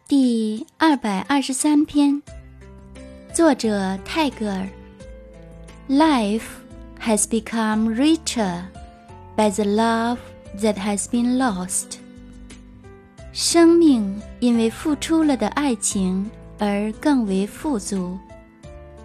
第223篇，作者泰戈尔。 Life has become richer by the love that has been lost. 生命因为付出了的爱情而更为富足。